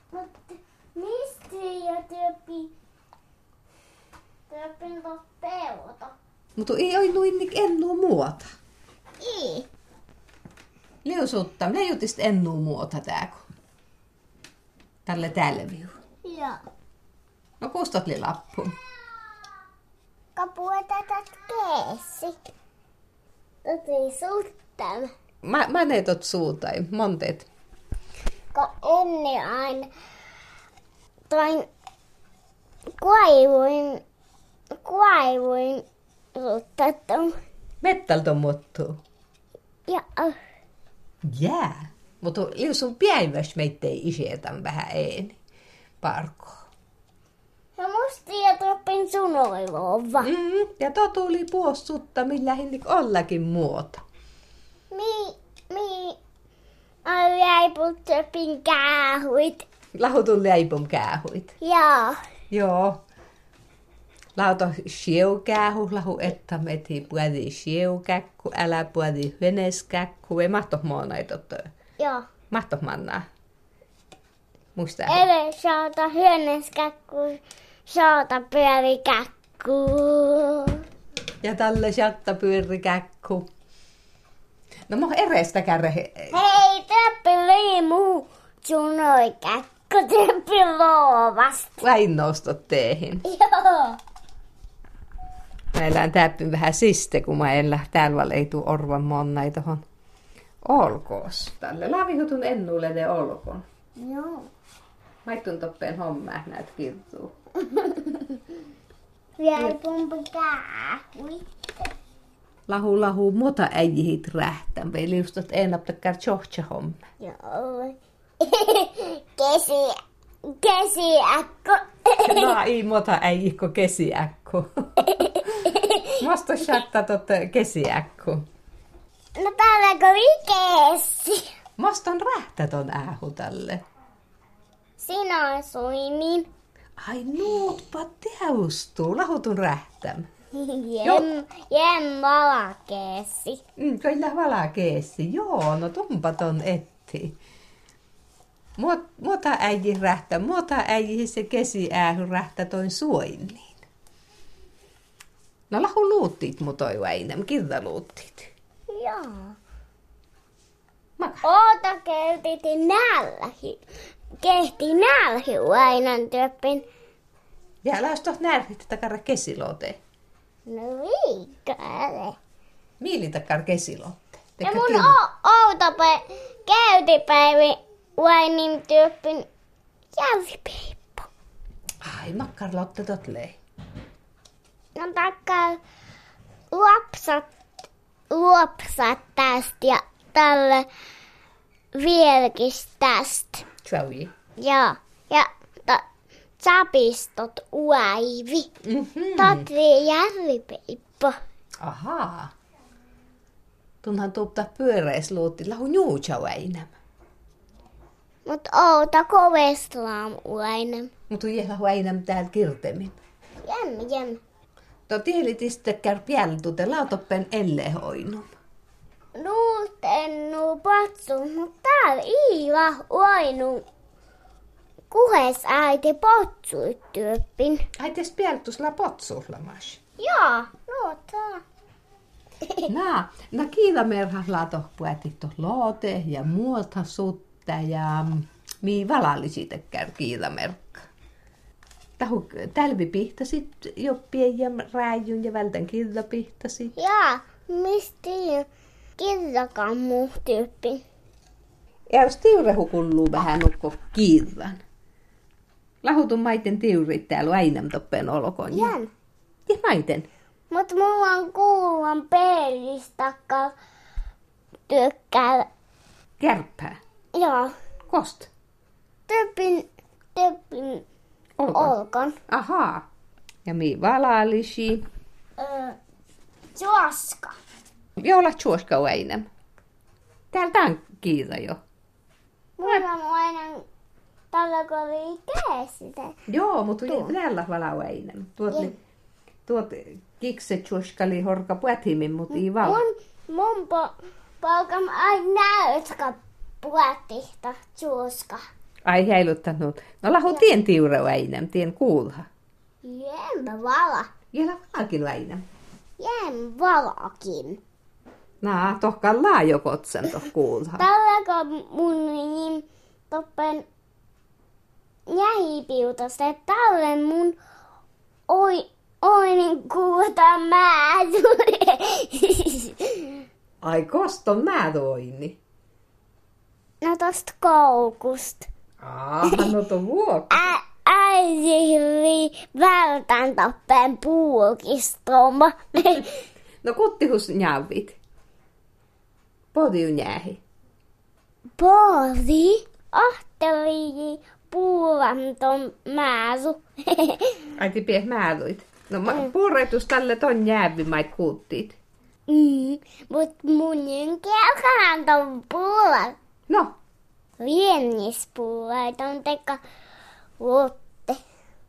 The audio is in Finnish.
Mutta mistä jo työpin pelota? Mutta ei ole luinnik ennuu muota. Ei. Liusutta, minä jutist ennuu muota tääkö? Tälle tälviu. Joo. No kustot li lappun. Kapua tätä keessi. Tätä suuttaa. Mä neetot suutain, monteet. Kun ennen aina toin kuivuin suuttaa. Mettältä muuttuu. Joo. Jää. Mutta liusun päiväs meittei isetän vähän eeni. Parko. Ja musta ja toppin sunoiluova. Ja tuli puossutta, millä hinnik ollakin muota. Ai jäiput töpin käähuit. Lahutun leipum käähuit. Joo. Joo. Lauta sieukähu, lahu että meti puoli sieukäkku, älä puoli hyneskäkku. Ei mahtoh moonaitot. Joo. Mahtoh mannaa. Muista. Ele saata hyöneskäkku, saata pyörikäkku. Ja tälle jatta pyörikäkku. No mä erestä kärre. Hei, töppi liimu, sunoi käkku, töppi loovasta. Vain nostot teehin. Joo. Mä elän täppyn vähän siste, kun mä elän. Täällä ei tuu orvan monnai tohon olkoos. Tälle lavihutun ennulle ne olkoon. Joo. Maittun toppeen hommaa, näet kirtuu. Vielä pumpi käähui. Lahu, muuta äijihit rähtän. Veliustot ennaptakkar tjohtsa homma. Joo. Kesiäkko. No ei muuta äijihko kesiäkku. Mosta shatta kesiäkku. No täällä oli kesi. Moston rähtäton äähu tälle. Sinä suimin. Ai nuutpa teustuu, lahutun rähtäm. Jem valakeesi. Kyllä valakeesi, joo, no tumpaton etti. Muuta äijin rähtä, muuta äijin se kesiäähy rähtä toin suoinniin. No lahu luuttit mutoi väinem, kirta luuttit. Joo. Maka. Oota keltiti nällähi. Kehti nälhi ainan työppin. Ja älä ostot närhit takara kesilote. No viikkoille. Miili takara kesilote. Ja mun käytipäivi vainin työppin jälvipeippo. Ai makkarlotte totlei. No takkaa luopsat tästä ja tälle vieläkis tästä. Tjauji. Joo. Ja sapistot uaivi. Totri järvipeippo. Ahaa. Tunhan tuupta pyöreisluutti lahu juutsa väinäm. Mut oota koveslaam uainem. Mutta lahu väinäm täällä kirtemin. Jem. Tielitistekär piältute lautoppen ellehoinum. Nuutennu patsu, mut täällä iiva uainu. Kuhes äiti potsuit työppin. Ai tes piältus la potsuhlamas. Joo, nuutaa. Na kiilamerha laato puetit loote ja muuta sutta ja mii valallisitekär kiilamerkka. Tahu tälvi pihtasit joppien ja rääjyn ja vältän kirja pihtasit. Jaa, mistä kirjakaan muu tyyppi. Ja jos tiurehu kulluu vähän nukko kiirran. Lahutun maiten tiurit täällä äinäm toppeen olkoon. Jän. Ja maiten. Mut mulla on kuulan pelistakka tykkää. Kärppää. Joo. Kost. Tyyppin olkon. Ahaa. Ja mii valallisi. Juoska. Jolla tjuoska väinäm. Täältä on kiira jo. Mulla on aina tällä kori käsitä. Joo, mutta täällä vala väinäm. Tuot kikse tjuoskali horka puätimin, mutta ei vala. Mun palkam aina näytkä puätihta juoska. Ai heiluttanut. No lahu tien tiureu äinem, tien kuulha. Jem vala. Jela valakin äinem. Jem valakin. Naa, tohkaan laajo kotsen toh kuulha. Tällä mun niin toppen jähipiutosta, että tälle mun oinin kuuta määturi. Ai koston mä toini. No tosta koukusta. No to vuokka. Äisihri vältän toppen puukistoma. No kuttihus njavit. Podiu njäähi. Pori. Ahteli puulanton määsu. Aiti pieh määluit. No purretus tälle ton njäävimait kuuttiit. Mut munin kelkaan ton puulan. No. Viennispuulan ton teka.